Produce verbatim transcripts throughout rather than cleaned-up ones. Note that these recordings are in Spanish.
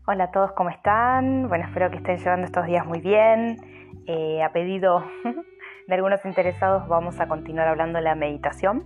Hola a todos, ¿cómo están? Bueno, espero que estén llevando estos días muy bien. Eh, a pedido de algunos interesados vamos a continuar hablando de la meditación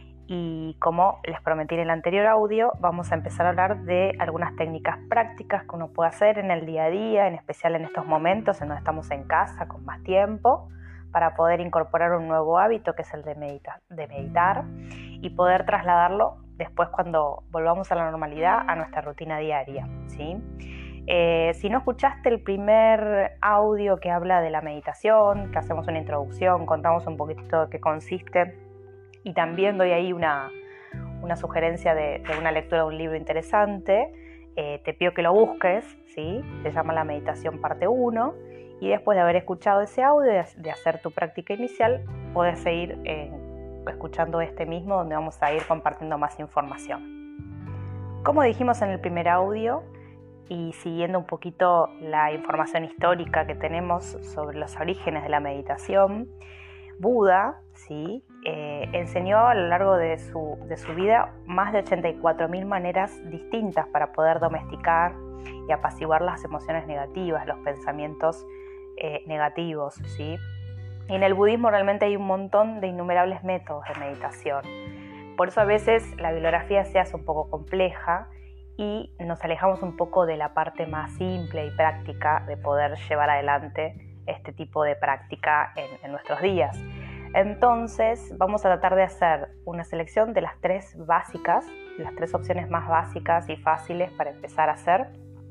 y como les prometí en el anterior audio, vamos a empezar a hablar de algunas técnicas prácticas que uno puede hacer en el día a día, en especial en estos momentos en donde estamos en casa con más tiempo, para poder incorporar un nuevo hábito que es el de, medita- de meditar y poder trasladarlo después cuando volvamos a la normalidad a nuestra rutina diaria, ¿sí? Eh, si no escuchaste el primer audio que habla de la meditación, que hacemos una introducción, contamos un poquitito de qué consiste y también doy ahí una, una sugerencia de, de una lectura de un libro interesante, eh, te pido que lo busques, ¿sí? Se llama La Meditación Parte uno y después de haber escuchado ese audio, de, de hacer tu práctica inicial, puedes seguir eh, escuchando este mismo donde vamos a ir compartiendo más información. Como dijimos en el primer audio, y siguiendo un poquito la información histórica que tenemos sobre los orígenes de la meditación, Buda, ¿sí? eh, enseñó a lo largo de su, de su vida más de ochenta y cuatro mil maneras distintas para poder domesticar y apaciguar las emociones negativas, los pensamientos eh, negativos, ¿sí? Y en el budismo realmente hay un montón de innumerables métodos de meditación. Por eso a veces la bibliografía se hace un poco compleja y nos alejamos un poco de la parte más simple y práctica de poder llevar adelante este tipo de práctica en, en nuestros días. Entonces vamos a tratar de hacer una selección de las tres básicas, las tres opciones más básicas y fáciles para empezar a hacer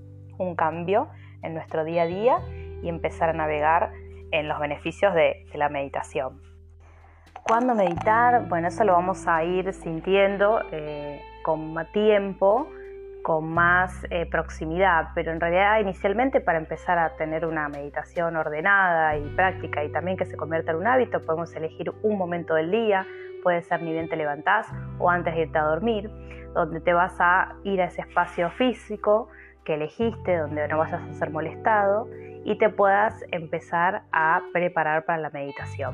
un cambio en nuestro día a día y empezar a navegar en los beneficios de, de la meditación. ¿Cuándo meditar? Bueno, eso lo vamos a ir sintiendo eh, con más tiempo, con más eh, proximidad, pero en realidad inicialmente para empezar a tener una meditación ordenada y práctica y también que se convierta en un hábito, podemos elegir un momento del día, puede ser ni bien te levantás o antes de irte a dormir, donde te vas a ir a ese espacio físico que elegiste, donde no vayas a ser molestado y te puedas empezar a preparar para la meditación.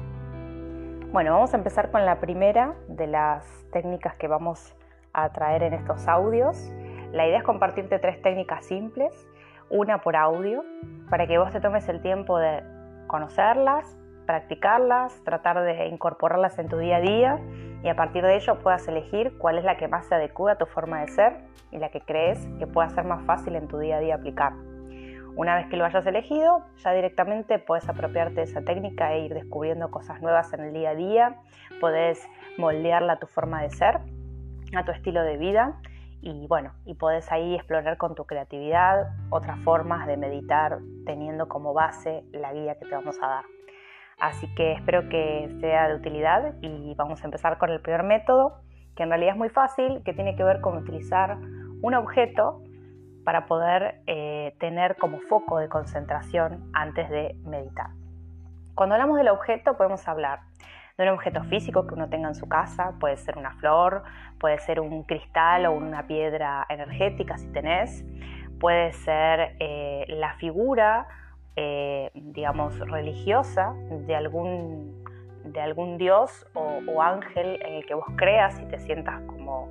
Bueno, vamos a empezar con la primera de las técnicas que vamos a traer en estos audios. La idea es compartirte tres técnicas simples, una por audio, para que vos te tomes el tiempo de conocerlas, practicarlas, tratar de incorporarlas en tu día a día y a partir de ello puedas elegir cuál es la que más se adecua a tu forma de ser y la que crees que pueda ser más fácil en tu día a día aplicar. Una vez que lo hayas elegido, ya directamente puedes apropiarte de esa técnica e ir descubriendo cosas nuevas en el día a día, podés moldearla a tu forma de ser, a tu estilo de vida y bueno, y podés ahí explorar con tu creatividad otras formas de meditar teniendo como base la guía que te vamos a dar. Así que espero que sea de utilidad y vamos a empezar con el primer método, que en realidad es muy fácil, que tiene que ver con utilizar un objeto para poder eh, tener como foco de concentración antes de meditar. Cuando hablamos del objeto podemos hablar de un objeto físico que uno tenga en su casa, puede ser una flor, puede ser un cristal o una piedra energética si tenés, puede ser eh, la figura, eh, digamos, religiosa de algún, de algún dios o, o ángel en el que vos creas y te sientas como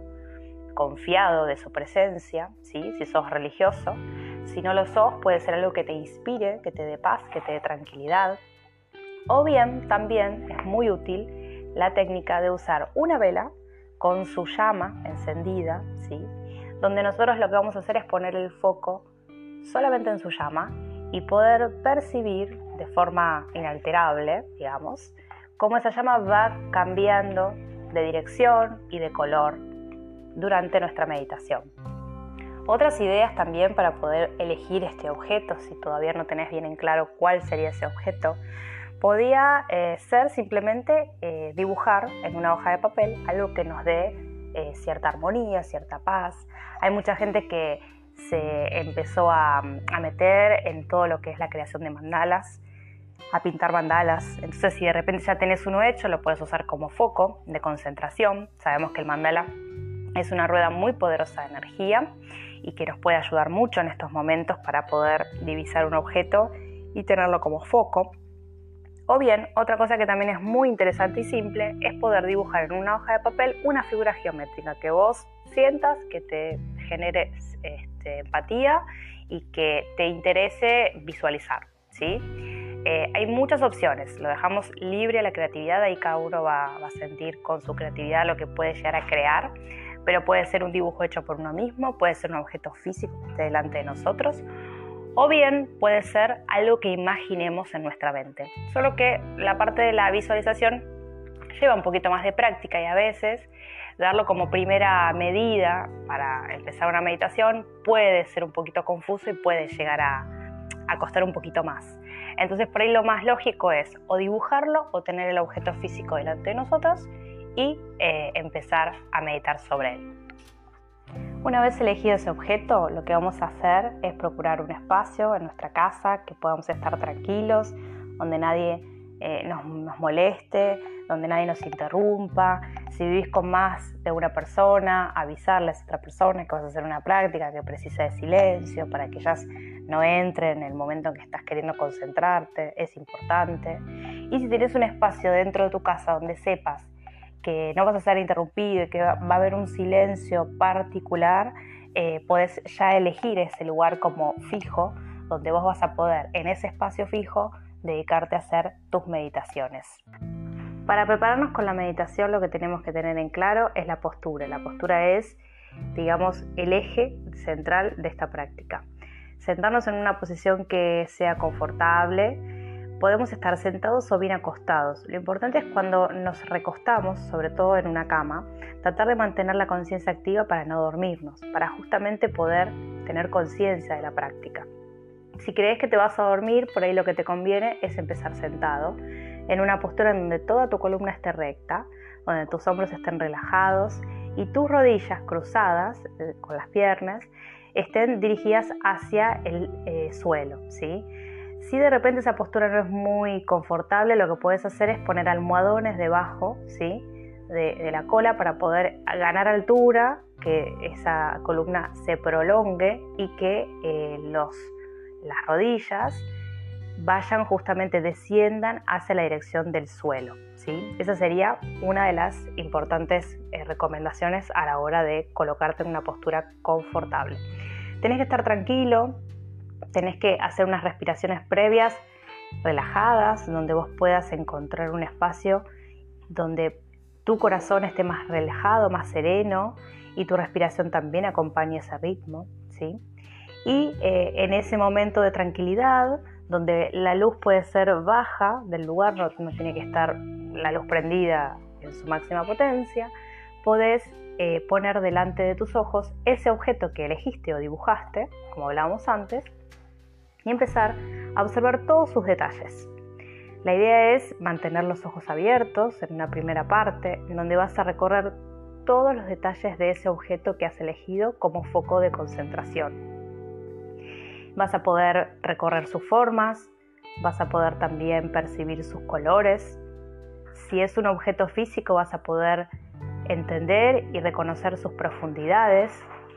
confiado de su presencia, ¿sí? Si sos religioso. Si no lo sos, puede ser algo que te inspire, que te dé paz, que te dé tranquilidad. O bien, también es muy útil la técnica de usar una vela con su llama encendida, ¿sí? Donde nosotros lo que vamos a hacer es poner el foco solamente en su llama y poder percibir de forma inalterable, digamos, cómo esa llama va cambiando de dirección y de color durante nuestra meditación. Otras ideas también para poder elegir este objeto, si todavía no tenés bien en claro cuál sería ese objeto, podía eh, ser simplemente eh, dibujar en una hoja de papel algo que nos dé eh, cierta armonía, cierta paz. Hay mucha gente que se empezó a, a meter en todo lo que es la creación de mandalas, a pintar mandalas. Entonces, si de repente ya tenés uno hecho, lo puedes usar como foco de concentración. Sabemos que el mandala es una rueda muy poderosa de energía y que nos puede ayudar mucho en estos momentos para poder divisar un objeto y tenerlo como foco. O bien, otra cosa que también es muy interesante y simple es poder dibujar en una hoja de papel una figura geométrica que vos sientas, que te genere este, empatía y que te interese visualizar, ¿sí? Eh, hay muchas opciones, lo dejamos libre a la creatividad, ahí cada uno va, va a sentir con su creatividad lo que puede llegar a crear, pero puede ser un dibujo hecho por uno mismo, puede ser un objeto físico que esté delante de nosotros, o bien puede ser algo que imaginemos en nuestra mente. Solo que la parte de la visualización lleva un poquito más de práctica y a veces darlo como primera medida para empezar una meditación puede ser un poquito confuso y puede llegar a, a costar un poquito más. Entonces por ahí lo más lógico es o dibujarlo o tener el objeto físico delante de nosotros y eh, empezar a meditar sobre él. Una vez elegido ese objeto, lo que vamos a hacer es procurar un espacio en nuestra casa que podamos estar tranquilos, donde nadie eh, nos, nos moleste, donde nadie nos interrumpa. Si vivís con más de una persona, avisarles a otra persona que vas a hacer una práctica que precisa de silencio para que ellas no entren en el momento en que estás queriendo concentrarte, es importante. Y si tienes un espacio dentro de tu casa donde sepas que no vas a ser interrumpido y que va a haber un silencio particular, eh, podés ya elegir ese lugar como fijo, donde vos vas a poder, en ese espacio fijo, dedicarte a hacer tus meditaciones. Para prepararnos con la meditación, lo que tenemos que tener en claro es la postura. La postura es, digamos, el eje central de esta práctica. Sentarnos en una posición que sea confortable. Podemos estar sentados o bien acostados. Lo importante es cuando nos recostamos, sobre todo en una cama, tratar de mantener la conciencia activa para no dormirnos, para justamente poder tener conciencia de la práctica. Si crees que te vas a dormir, por ahí lo que te conviene es empezar sentado, en una postura en donde toda tu columna esté recta, donde tus hombros estén relajados y tus rodillas cruzadas eh, con las piernas estén dirigidas hacia el eh, suelo, ¿sí? Si de repente esa postura no es muy confortable, lo que puedes hacer es poner almohadones debajo, ¿sí?, de, de la cola para poder ganar altura, que esa columna se prolongue y que eh, los, las rodillas vayan justamente, desciendan hacia la dirección del suelo, ¿sí? Esa sería una de las importantes eh, recomendaciones a la hora de colocarte en una postura confortable. Tenés que estar tranquilo. Tenés que hacer unas respiraciones previas relajadas, donde vos puedas encontrar un espacio donde tu corazón esté más relajado, más sereno y tu respiración también acompañe ese ritmo, ¿sí? Y eh, en ese momento de tranquilidad, donde la luz puede ser baja del lugar, no, no tiene que estar la luz prendida en su máxima potencia, podés eh, poner delante de tus ojos ese objeto que elegiste o dibujaste, como hablábamos antes, y empezar a observar todos sus detalles. La idea es mantener los ojos abiertos en una primera parte, en donde vas a recorrer todos los detalles de ese objeto que has elegido como foco de concentración. Vas a poder recorrer sus formas, vas a poder también percibir sus colores. Si es un objeto físico, vas a poder entender y reconocer sus profundidades.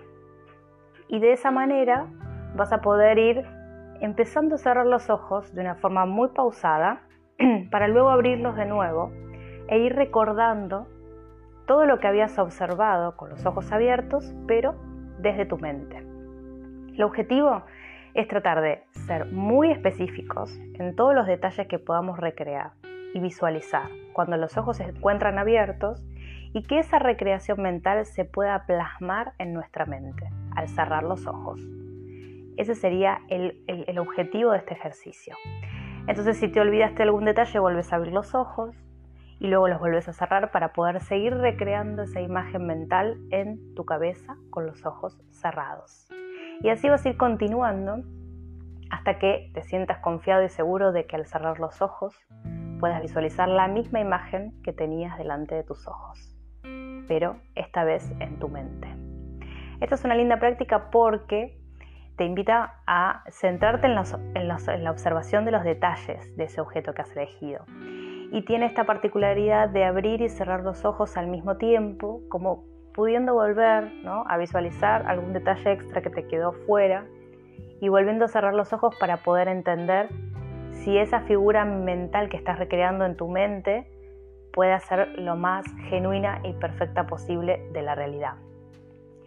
Y de esa manera vas a poder ir empezando a cerrar los ojos de una forma muy pausada para luego abrirlos de nuevo e ir recordando todo lo que habías observado con los ojos abiertos, pero desde tu mente. El objetivo es tratar de ser muy específicos en todos los detalles que podamos recrear y visualizar cuando los ojos se encuentran abiertos y que esa recreación mental se pueda plasmar en nuestra mente al cerrar los ojos. Ese sería el, el, el objetivo de este ejercicio. Entonces, si te olvidaste algún detalle, vuelves a abrir los ojos y luego los vuelves a cerrar para poder seguir recreando esa imagen mental en tu cabeza con los ojos cerrados. Y así vas a ir continuando hasta que te sientas confiado y seguro de que al cerrar los ojos puedas visualizar la misma imagen que tenías delante de tus ojos, pero esta vez en tu mente. Esta es una linda práctica porque te invita a centrarte en, los, en, los, en la observación de los detalles de ese objeto que has elegido. Y tiene esta particularidad de abrir y cerrar los ojos al mismo tiempo, como pudiendo volver, ¿no?, a visualizar algún detalle extra que te quedó fuera y volviendo a cerrar los ojos para poder entender si esa figura mental que estás recreando en tu mente puede ser lo más genuina y perfecta posible de la realidad.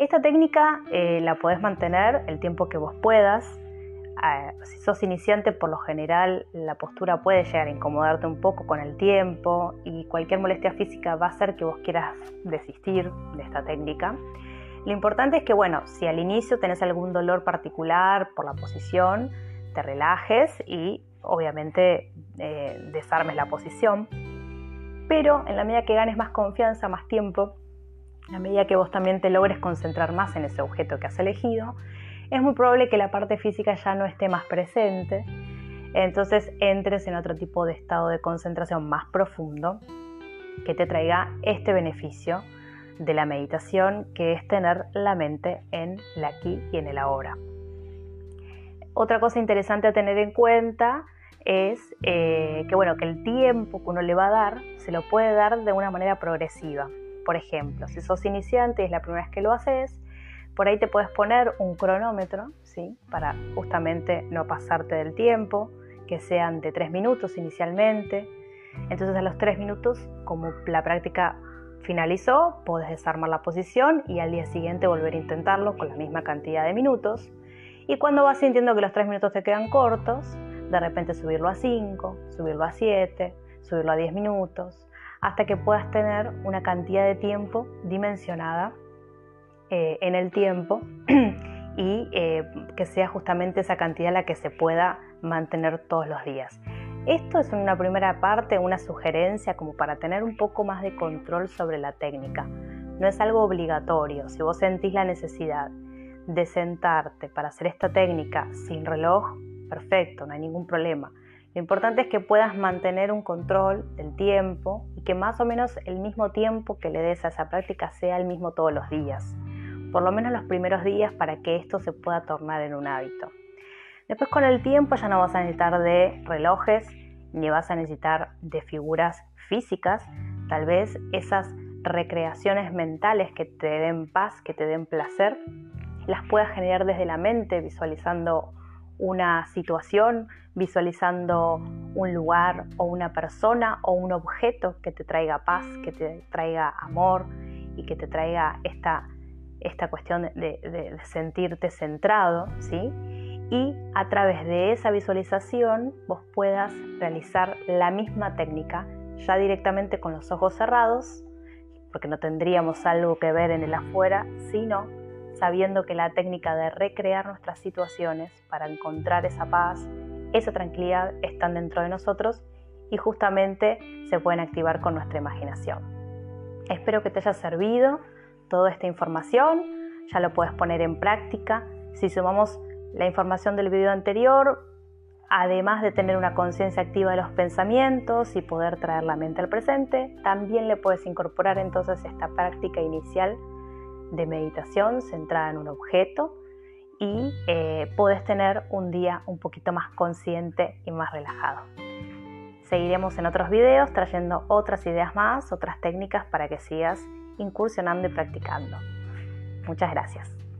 Esta técnica eh, la podés mantener el tiempo que vos puedas. Eh, si sos iniciante, por lo general la postura puede llegar a incomodarte un poco con el tiempo y cualquier molestia física va a hacer que vos quieras desistir de esta técnica. Lo importante es que, bueno, si al inicio tenés algún dolor particular por la posición, te relajes y obviamente eh, desarmes la posición. Pero en la medida que ganes más confianza, más tiempo, en la medida que vos también te logres concentrar más en ese objeto que has elegido, es muy probable que la parte física ya no esté más presente, entonces entres en otro tipo de estado de concentración más profundo que te traiga este beneficio de la meditación, que es tener la mente en el aquí y en el ahora. Otra cosa interesante a tener en cuenta es eh, que, bueno, que el tiempo que uno le va a dar se lo puede dar de una manera progresiva. Por ejemplo, si sos iniciante y es la primera vez que lo haces, por ahí te puedes poner un cronómetro, ¿sí? Para justamente no pasarte del tiempo, que sean de tres minutos inicialmente. Entonces a los tres minutos, como la práctica finalizó, podés desarmar la posición y al día siguiente volver a intentarlo con la misma cantidad de minutos. Y cuando vas sintiendo que los tres minutos te quedan cortos, de repente subirlo a cinco, subirlo a siete, subirlo a diez minutos, hasta que puedas tener una cantidad de tiempo dimensionada eh, en el tiempo y eh, que sea justamente esa cantidad la que se pueda mantener todos los días. Esto es una primera parte, una sugerencia como para tener un poco más de control sobre la técnica. No es algo obligatorio. Si vos sentís la necesidad de sentarte para hacer esta técnica sin reloj, perfecto, no hay ningún problema. Lo importante es que puedas mantener un control del tiempo y que más o menos el mismo tiempo que le des a esa práctica sea el mismo todos los días. Por lo menos los primeros días, para que esto se pueda tornar en un hábito. Después, con el tiempo, ya no vas a necesitar de relojes ni vas a necesitar de figuras físicas. Tal vez esas recreaciones mentales que te den paz, que te den placer, las puedas generar desde la mente, visualizando una situación, visualizando un lugar o una persona o un objeto que te traiga paz, que te traiga amor y que te traiga esta, esta cuestión de, de, de sentirte centrado, ¿sí? Y a través de esa visualización vos puedas realizar la misma técnica ya directamente con los ojos cerrados, porque no tendríamos algo que ver en el afuera, sino sabiendo que la técnica de recrear nuestras situaciones para encontrar esa paz, esa tranquilidad, están dentro de nosotros y justamente se pueden activar con nuestra imaginación. Espero que te haya servido toda esta información, ya lo puedes poner en práctica. Si sumamos la información del video anterior, además de tener una conciencia activa de los pensamientos y poder traer la mente al presente, también le puedes incorporar entonces esta práctica inicial de meditación centrada en un objeto y eh, puedes tener un día un poquito más consciente y más relajado. Seguiremos en otros videos trayendo otras ideas más, otras técnicas para que sigas incursionando y practicando. Muchas gracias.